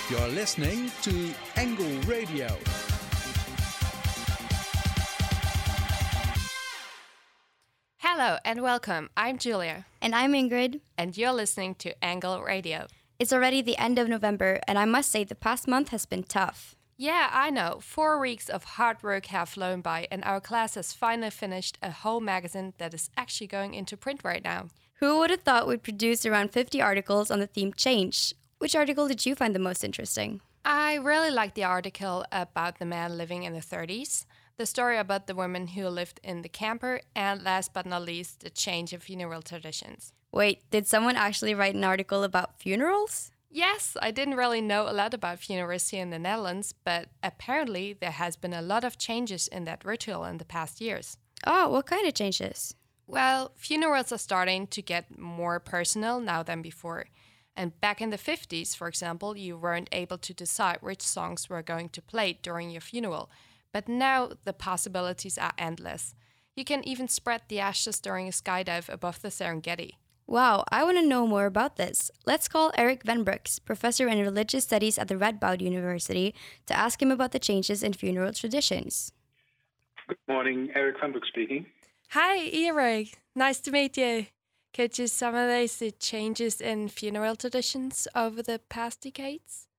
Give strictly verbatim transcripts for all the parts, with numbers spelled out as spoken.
You're listening to Angle Radio. Hello and welcome. I'm Julia. And I'm Ingrid. And you're listening to Angle Radio. It's already the end of November, and I must say the past month has been tough. Yeah, I know. Four weeks of hard work have flown by, and our class has finally finished a whole magazine that is actually going into print right now. Who would have thought we'd produce around fifty articles on the theme change? Which article did you find the most interesting? I really liked the article about the man living in the thirties, the story about the woman who lived in the camper, and last but not least, the change in funeral traditions. Wait, did someone actually write an article about funerals? Yes, I didn't really know a lot about funerals here in the Netherlands, but apparently there has been a lot of changes in that ritual in the past years. Oh, what kind of changes? Well, funerals are starting to get more personal now than before. And back in the fifties, for example, you weren't able to decide which songs were going to play during your funeral. But now the possibilities are endless. You can even spread the ashes during a skydive above the Serengeti. Wow, I want to know more about this. Let's call Eric Van Brooks, professor in religious studies at the Radboud University, to ask him about the changes in funeral traditions. Good morning, Eric Van Brooks speaking. Hi, Eric. Nice to meet you. Could you summarize the changes in funeral traditions over the past decades?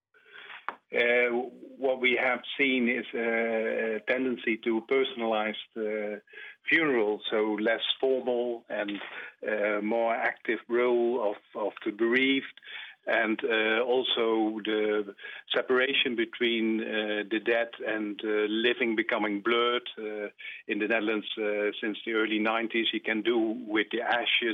Uh, what we have seen is a tendency to personalize the funeral, so less formal and uh, more active role of, of the bereaved, and uh, also the separation between uh, the dead and uh, living becoming blurred. Uh, in the Netherlands, uh, since the early nineties, you can do with the ashes,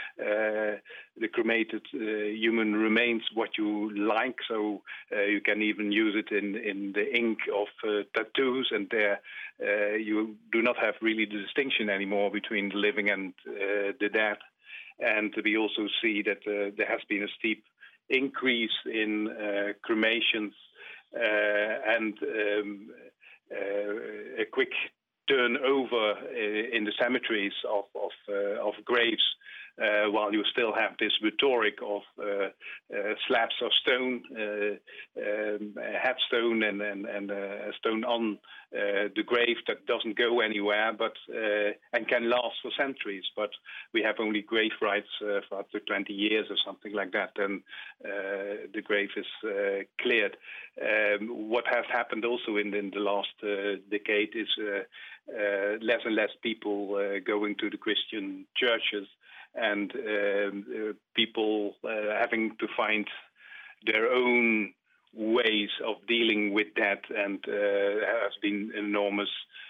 uh, the cremated uh, human remains, what you like. So uh, you can even use it in, in the ink of uh, tattoos, and there uh, you do not have really the distinction anymore between the living and uh, the dead. And we also see that uh, there has been a steep increase in uh, cremations uh, and um, uh, a quick turnover in the cemeteries of of, uh, of graves, uh, while you still have this rhetoric of uh, uh, slabs of stone, uh, um, a headstone and, and, and a stone on uh, the grave that doesn't go anywhere, but uh, and can last for centuries. But we have only grave rights uh, for up to twenty years or something like that, and uh, the grave is uh, cleared. Um, what has happened also in, in the last uh, decade is uh, uh, less and less people uh, going to the Christian churches, and um, uh, people uh, having to find their own ways of dealing with that, and uh, there has been enormous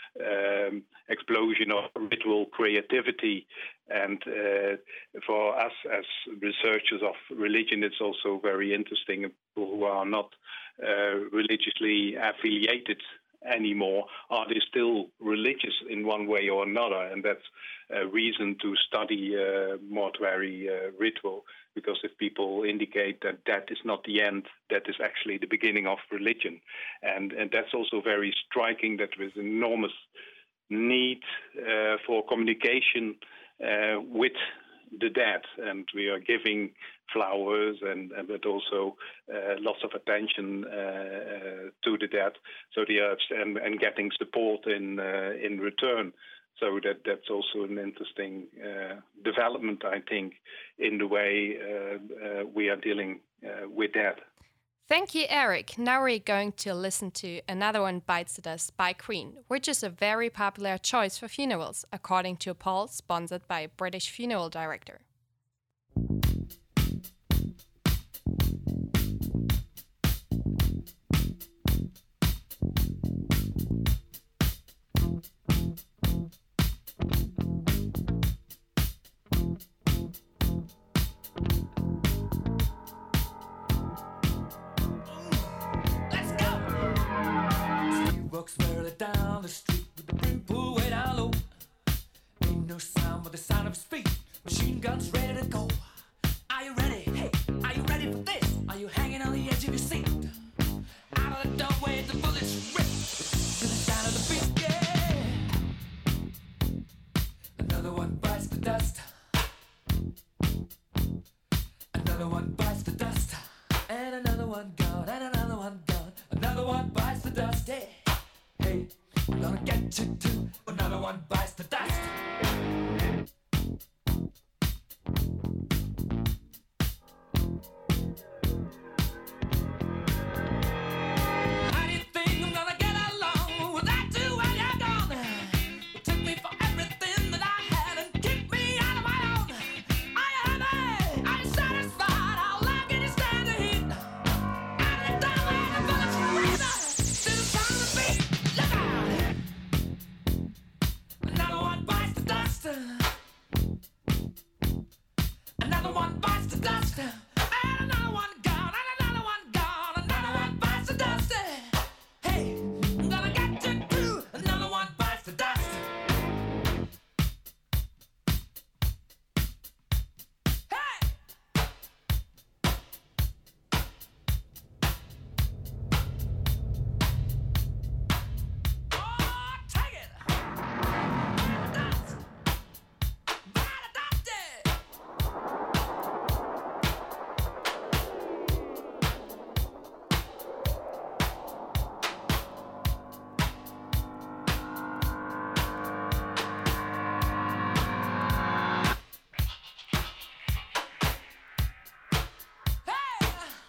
um, explosion of ritual creativity. And uh, for us as researchers of religion, it's also very interesting. People who are not uh, religiously affiliated anymore, are they still religious in one way or another? And that's a reason to study uh, mortuary uh, ritual, because if people indicate that that is not the end, that is actually the beginning of religion. And, and that's also very striking, that there is enormous need uh, for communication uh, with the dead, and we are giving flowers and, and but also uh, lots of attention uh, uh, to the dead, so they are and, and getting support in uh, in return. So that that's also an interesting uh, development, I think, in the way uh, uh, we are dealing uh, with that. Thank you, Eric. Now we're going to listen to Another One Bites the Dust by Queen, which is a very popular choice for funerals, according to a poll sponsored by a British funeral director. Walks further down the street with the brim pulled way down low. Ain't no sound but the sound of his feet. Machine guns ready to go. Are you ready? Hey, are you ready for this? Are you hanging on the edge of your seat? Out of the doorway, the bullets rip to the sound of the beat. Yeah. Another one bites the dust. Another one bites the dust. And another one gone. And another one. get to do, another one bites the dust. How do you think I'm gonna get along without you when you're gone? You took me for everything that I had and kicked me out of my own. Are you happy? Are you satisfied? How long can you stand the heat? Out of the door and the bullets razor to the sound of the beat. Look out! Another one bites the dust. Another one bites the dust. And another one gone. And another one gone. Another one bites the dust. Hey, I'm gonna get you too. Another one bites the dust. Hey! Oh, take it! Dust! Bite the dust! Hey!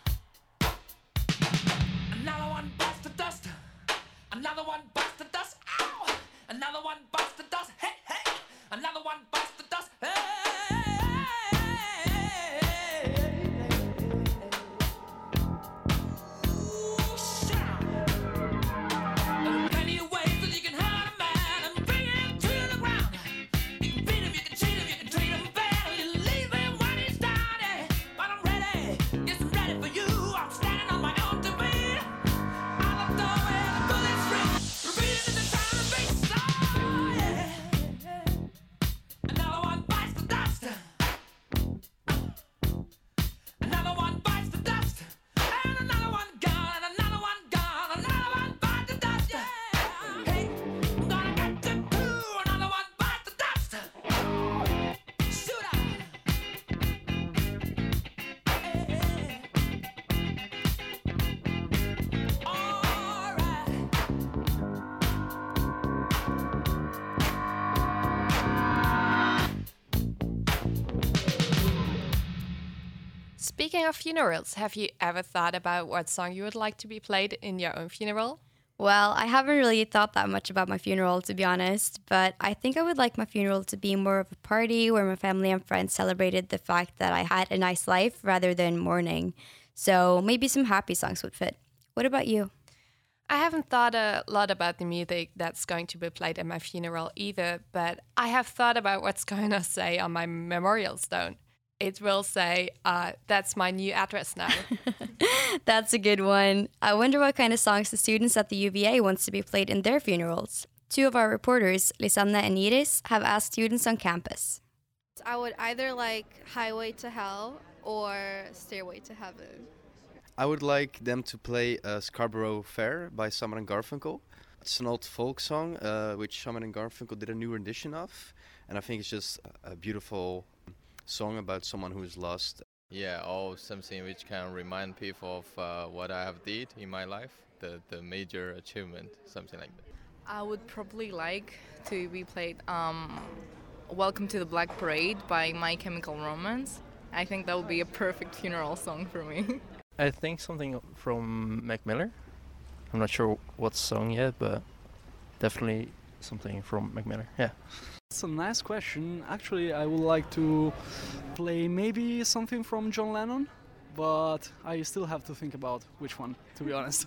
Another one bites the dust. Another one bites the dust. Ow! Another one bites the dust. Hey, hey! Another one bites the dust. Hey! Ooh, shout! There are plenty of ways that you can hurt a man and bring him to the ground. You can beat him, you can cheat him, you can treat him bad, or you leave him when he's down. eh. But I'm ready, yes, I'm ready for you. I'm standing on my own two feet. Out the door where the bullets ring, repeating in the sound of bass. Oh, yeah. Another one bites the dust. Another one bites the dust. And another one gone. And another one gone. Another one bites the dust. Yeah. Hey, I'm gonna get you too. Another one bites the dust. Shoot out. Hey, hey. All right. Speaking of funerals, have you ever thought about what song you would like to be played in your own funeral? Well, I haven't really thought that much about my funeral, to be honest, but I think I would like my funeral to be more of a party where my family and friends celebrated the fact that I had a nice life rather than mourning. So maybe some happy songs would fit. What about you? I haven't thought a lot about the music that's going to be played at my funeral either, but I have thought about what's going to say on my memorial stone. It will say, uh, that's my new address now. That's a good one. I wonder what kind of songs the students at the U V A wants to be played in their funerals. Two of our reporters, Lisanne and Iris, have asked students on campus. I would either like Highway to Hell or Stairway to Heaven. I would like them to play uh, Scarborough Fair by Simon and Garfunkel. It's an old folk song uh, which Simon and Garfunkel did a new rendition of, and I think it's just a beautiful song about someone who is lost. Yeah, or something which can remind people of uh, what I have did in my life, the, the major achievement, something like that. I would probably like to be played um, Welcome to the Black Parade by My Chemical Romance. I think that would be a perfect funeral song for me. I think something from Mac Miller. I'm not sure what song yet, but definitely something from Mac Miller, yeah. That's a nice question. Actually, I would like to play maybe something from John Lennon, but I still have to think about which one, to be honest.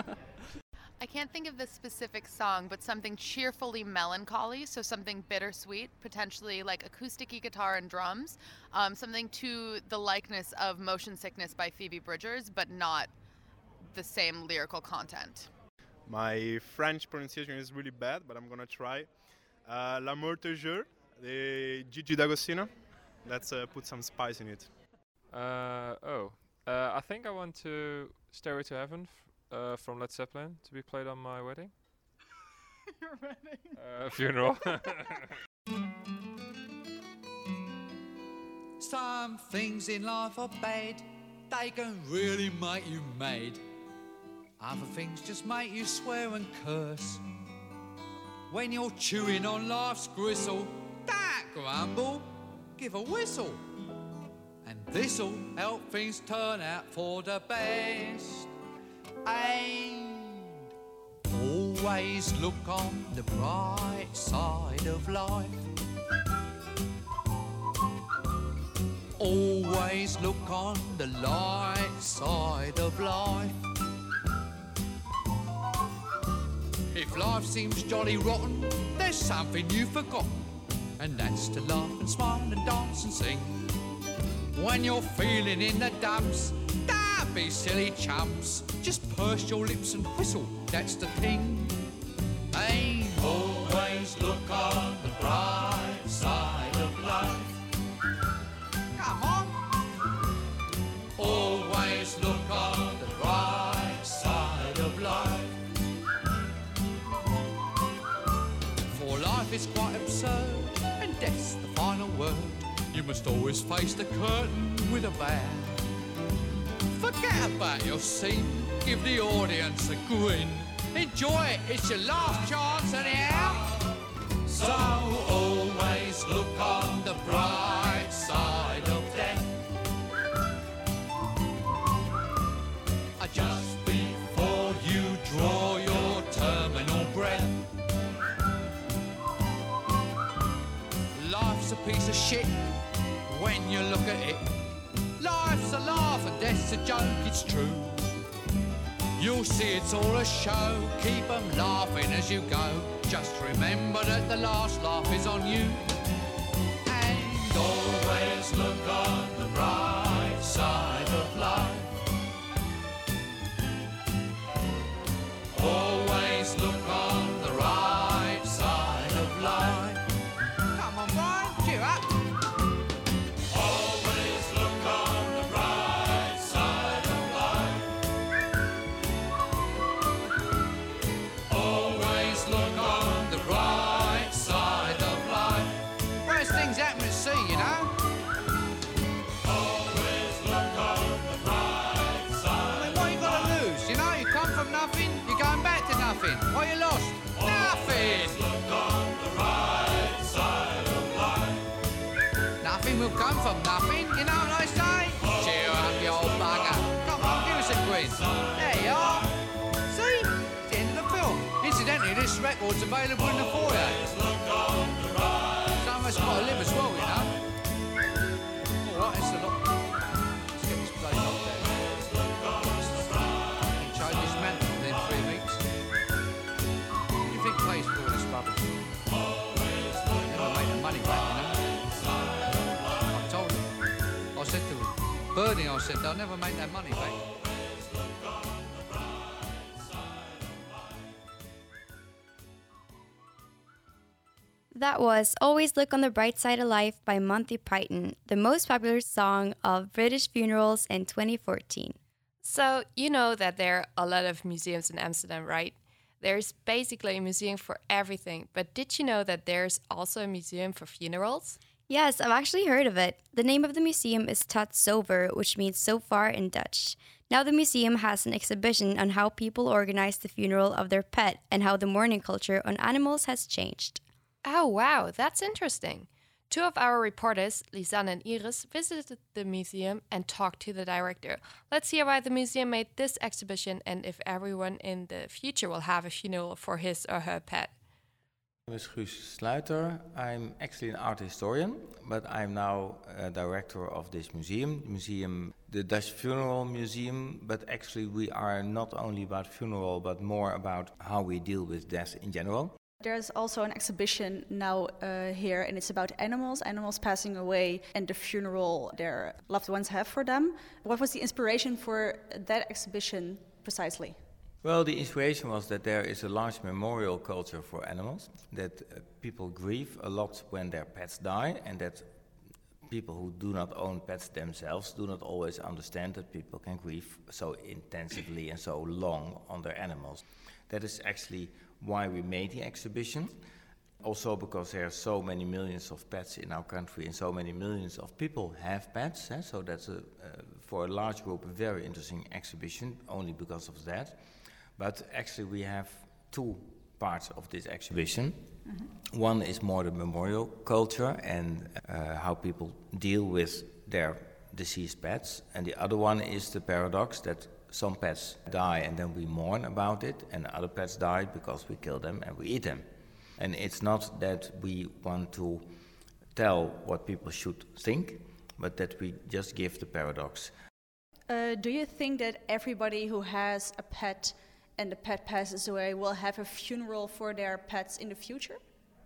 I can't think of the specific song, but something cheerfully melancholy, so something bittersweet, potentially like acoustic guitar and drums, um, something to the likeness of Motion Sickness by Phoebe Bridgers, but not the same lyrical content. My French pronunciation is really bad, but I'm gonna try. Uh, L'amour te jure, the Gigi D'Agostino. Let's uh, put some spice in it. Uh, oh, uh, I think I want to Stairway to Heaven f- uh, from Led Zeppelin to be played on my wedding. Your wedding? Uh, funeral. Some things in life are bad, they can really make you mad. Other things just make you swear and curse. When you're chewing on life's gristle, don't grumble, give a whistle. And this'll help things turn out for the best. And always look on the bright side of life. Always look on the light side of life. If life seems jolly rotten, there's something you've forgotten, and that's to laugh and smile and dance and sing. When you're feeling in the dumps, don't be silly chumps. Just purse your lips and whistle, that's the thing. Hey, always look on the bright side of life. Come on. Always look on the bright side of life. For life is quite absurd, and death's the final word. You must always face the curtain with a bow. Forget about your scene, give the audience a grin. Enjoy it, it's your last chance anyhow. So always look on the bright side of death. Just before you draw your terminal breath. Life's a piece of shit when you look at it. Life's a laugh and death's a joke, it's true. You'll see it's all a show, keep 'em laughing as you go. Just remember that the last laugh is on you. And always look on the bright side of life. Always look on the right side of life. Come on, Brian, cheer up. Always look on the right side of life. Always look on the right side of life. Worst things happen at sea, you know. Always look on the right side. I mean, what you got to lose? You know, you come from nothing, you're going back to nothing. What you lost? Nothing. Look on the right side of life. Nothing will come from nothing, you know what I say? Cheer up, you old bugger. Come on, give us a quiz. There you are. See? It's the end of the film. Incidentally, this record's available in the foyer. Some of us got to live as well, you know. All right, it's a lot. Let's get this place up there. Change this mantle within three weeks. What do you think pays for all this rubbish? Never made the money back, you know. I told him. I said to Bernie, I said, they'll never make that money back. That was Always Look on the Bright Side of Life by Monty Python, the most popular song of British funerals in twenty fourteen. So, you know that there are a lot of museums in Amsterdam, right? There's basically a museum for everything, but did you know that there's also a museum for funerals? Yes, I've actually heard of it. The name of the museum is Tot Zover, which means so far in Dutch. Now the museum has an exhibition on how people organize the funeral of their pet and how the mourning culture on animals has changed. Oh, wow, that's interesting. Two of our reporters, Lisanne and Iris, visited the museum and talked to the director. Let's hear why the museum made this exhibition and if everyone in the future will have a funeral for his or her pet. My name is Guus Sluiter. I'm actually an art historian, but I'm now a director of this museum, museum, the Dutch Funeral Museum. But actually we are not only about funeral, but more about how we deal with death in general. There's also an exhibition now uh, here, and it's about animals, animals passing away and the funeral their loved ones have for them. What was the inspiration for that exhibition precisely? Well, the inspiration was that there is a large memorial culture for animals, that uh, people grieve a lot when their pets die, and that people who do not own pets themselves do not always understand that people can grieve so intensively and so long on their animals. That is actually why we made the exhibition. Also because there are so many millions of pets in our country and so many millions of people have pets. Eh? So that's, a, uh, for a large group, a very interesting exhibition, only because of that. But actually we have two parts of this exhibition. Mm-hmm. One is more the memorial culture and uh, how people deal with their deceased pets, and the other one is the paradox that some pets die and then we mourn about it, and other pets die because we kill them and we eat them. And it's not that we want to tell what people should think, but that we just give the paradox. Uh, do you think that everybody who has a pet and the pet passes away will have a funeral for their pets in the future?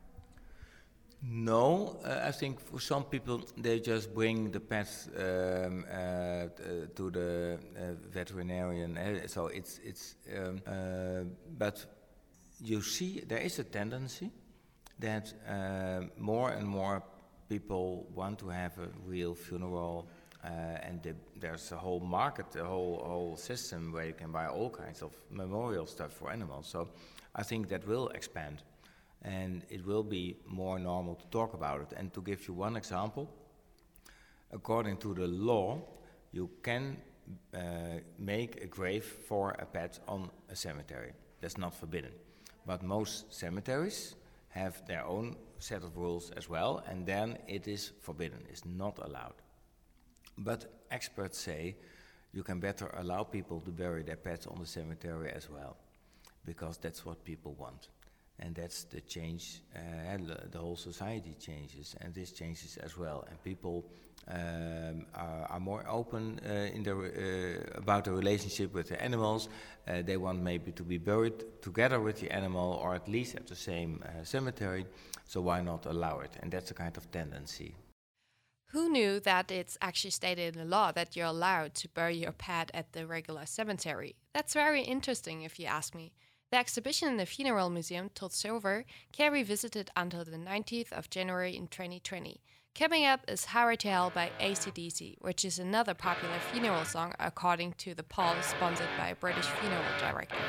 No, uh, I think for some people they just bring the pets um, uh, t- to the uh, veterinarian. Uh, so it's it's. Um, uh, but you see, there is a tendency that uh, more and more people want to have a real funeral, uh, and the, there's a whole market, a whole whole system where you can buy all kinds of memorial stuff for animals. So I think that will expand. And it will be more normal to talk about it. And to give you one example, according to the law, you can uh, make a grave for a pet on a cemetery. That's not forbidden. But most cemeteries have their own set of rules as well, and then it is forbidden, it's not allowed. But experts say you can better allow people to bury their pets on the cemetery as well, because that's what people want. And that's the change, uh, and the, the whole society changes, and this changes as well. And people um, are, are more open uh, in their, uh, about the relationship with the animals. Uh, they want maybe to be buried together with the animal, or at least at the same uh, cemetery. So why not allow it? And that's a kind of tendency. Who knew that it's actually stated in the law that you're allowed to bury your pet at the regular cemetery? That's very interesting if you ask me. The exhibition in the Funeral Museum Tot Zover can be visited until the nineteenth of January in twenty twenty. Coming up is Highway to Hell by A C D C, which is another popular funeral song according to the poll sponsored by a British funeral director.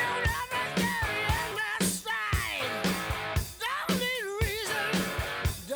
Don't need reason.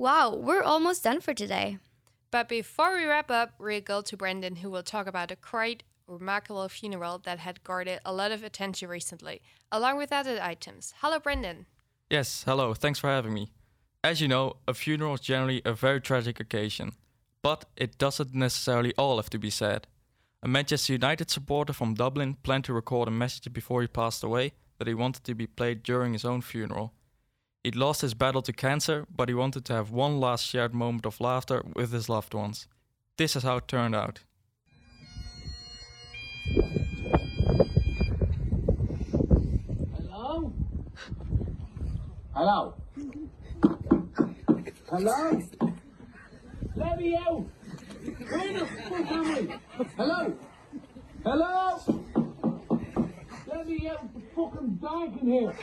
Wow, we're almost done for today. But before we wrap up, we'll go to Brendan, who will talk about a quite remarkable funeral that had garnered a lot of attention recently, along with other items. Hello, Brendan. Yes, hello, thanks for having me. As you know, a funeral is generally a very tragic occasion, but it doesn't necessarily all have to be sad. A Manchester United supporter from Dublin planned to record a message before he passed away that he wanted to be played during his own funeral. He'd lost his battle to cancer, but he wanted to have one last shared moment of laughter with his loved ones. This is how it turned out. Hello? Hello? Hello? Let me out! Where the fuck am I? Hello? Hello? Let me out! It's fucking dark in here!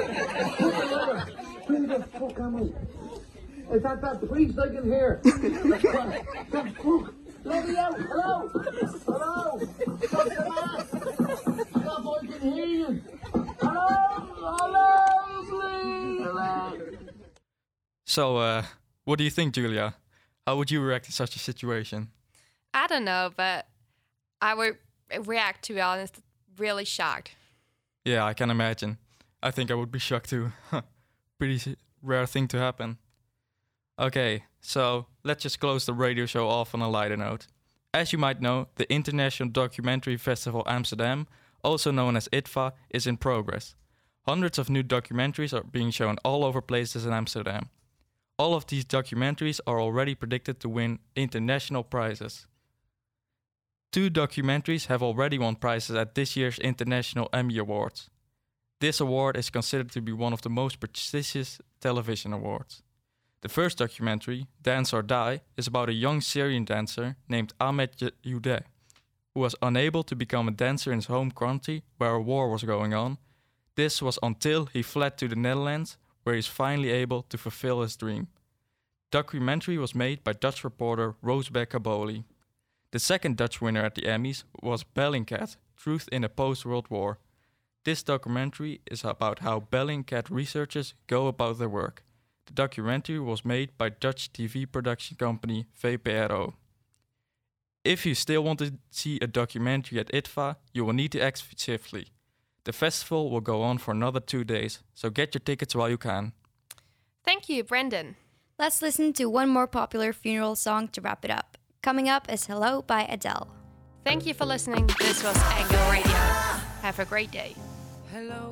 Where the fuck am I? Is that that priest I can hear? The fuck? Let me out! Hello? Hello? Stop the mask! Stop, I can hear you! Hello? Hello? Please! Hello? So, uh, what do you think, Julia? How would you react to such a situation? I don't know, but I would react, to be honest, really shocked. Yeah, I can imagine. I think I would be shocked too. Pretty rare thing to happen. Okay, so let's just close the radio show off on a lighter note. As you might know, the International Documentary Festival Amsterdam, also known as I T F A, is in progress. Hundreds of new documentaries are being shown all over places in Amsterdam. All of these documentaries are already predicted to win international prizes. Two documentaries have already won prizes at this year's International Emmy Awards. This award is considered to be one of the most prestigious television awards. The first documentary, Dance or Die, is about a young Syrian dancer named Ahmed Youdeh, who was unable to become a dancer in his home country where a war was going on. This was until he fled to the Netherlands, where he is finally able to fulfill his dream. The documentary was made by Dutch reporter Roosbeck Kaboli. The second Dutch winner at the Emmys was Bellingcat, Truth in a Post-World War. This documentary is about how Bellingcat researchers go about their work. The documentary was made by Dutch T V production company V P R O. If you still want to see a documentary at I T F A, you will need to act swiftly. The festival will go on for another two days, so get your tickets while you can. Thank you, Brendan. Let's listen to one more popular funeral song to wrap it up. Coming up is Hello by Adele. Thank you for listening. This was Angle Radio. Have a great day. Hello,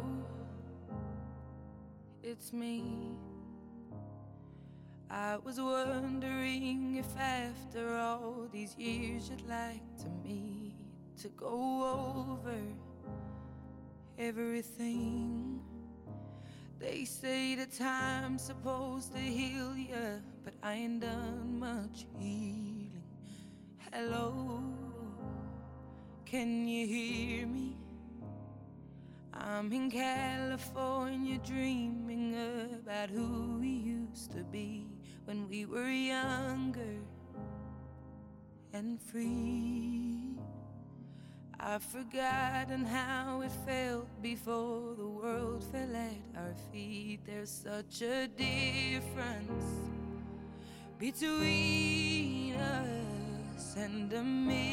it's me. I was wondering if after all these years you'd like to meet to go over everything. They say the time's supposed to heal ya, but I ain't done much healing. Hello, can you hear me? I'm in California dreaming about who we used to be when we were younger and free. I've forgotten how it felt before the world fell at our feet. There's such a difference between us and a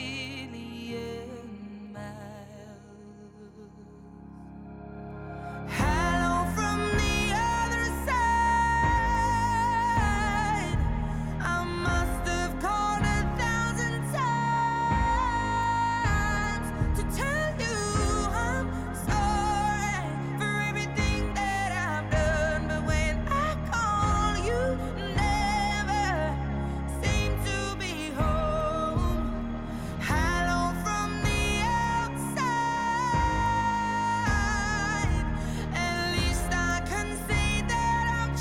million miles. Hello from the other side. I must have called a thousand times to tell you I'm sorry for everything that I've done. But when I call, you never seem to be home. Hello from the outside. At least I can say that I've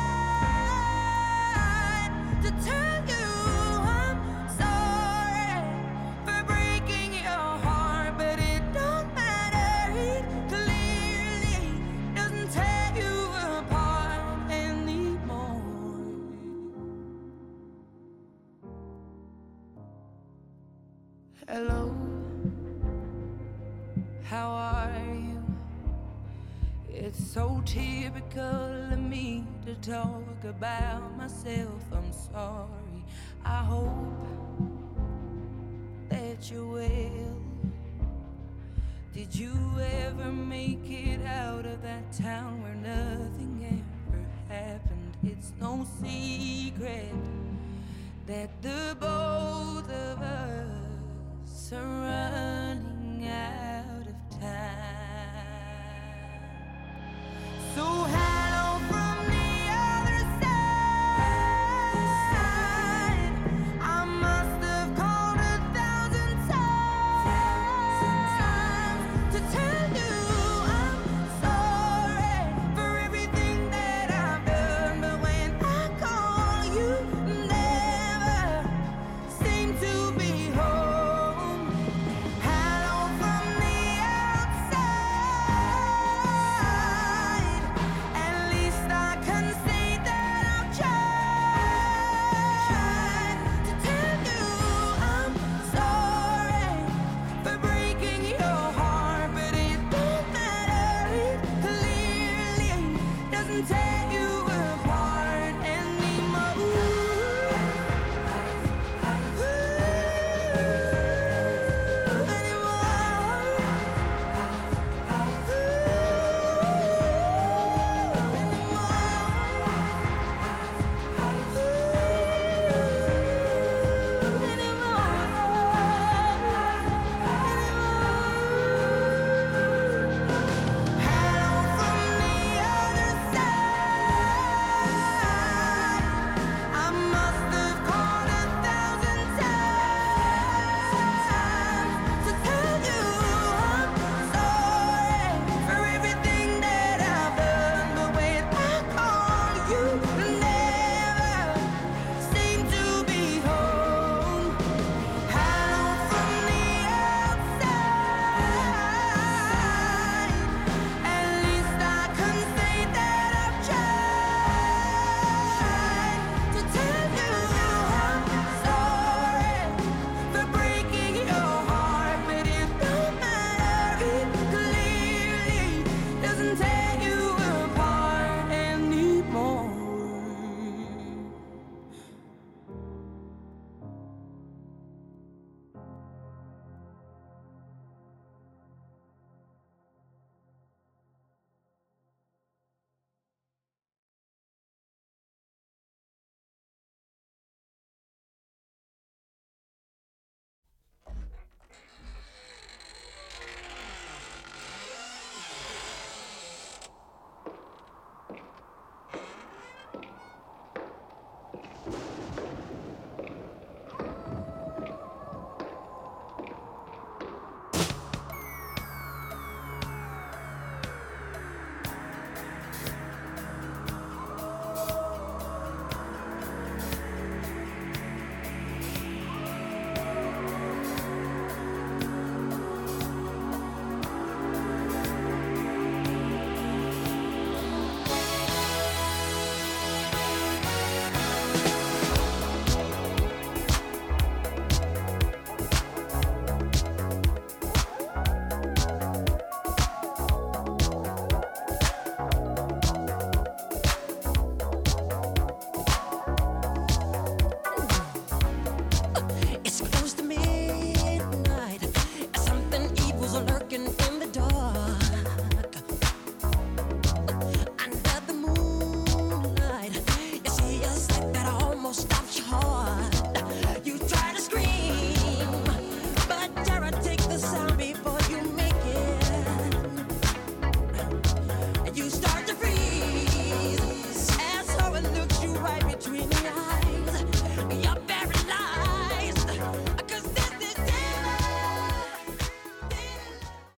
tried to tell you I'm sorry for breaking your heart, but it don't matter. It clearly doesn't tear you apart anymore. Hello, how are you? It's so typical of me to talk about myself. I'm sorry. I hope that you're well. Did you ever make it out of that town where nothing ever happened? It's no secret that the both of us are running.